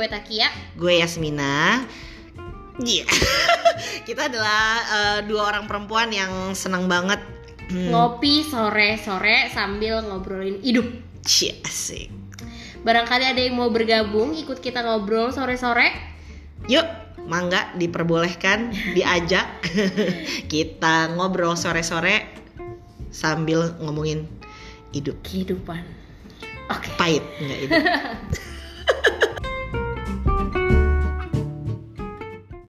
gue Takia. Gue Yasmina. Iya. Kita adalah dua orang perempuan yang senang banget ngopi sore-sore sambil ngobrolin hidup. Cie, asik. Barangkali ada yang mau bergabung ikut kita ngobrol sore-sore. Yuk, mangga diperbolehkan, diajak. Kita ngobrol sore-sore sambil ngomongin hidup. Kehidupan. Oke. Pahit enggak hidup.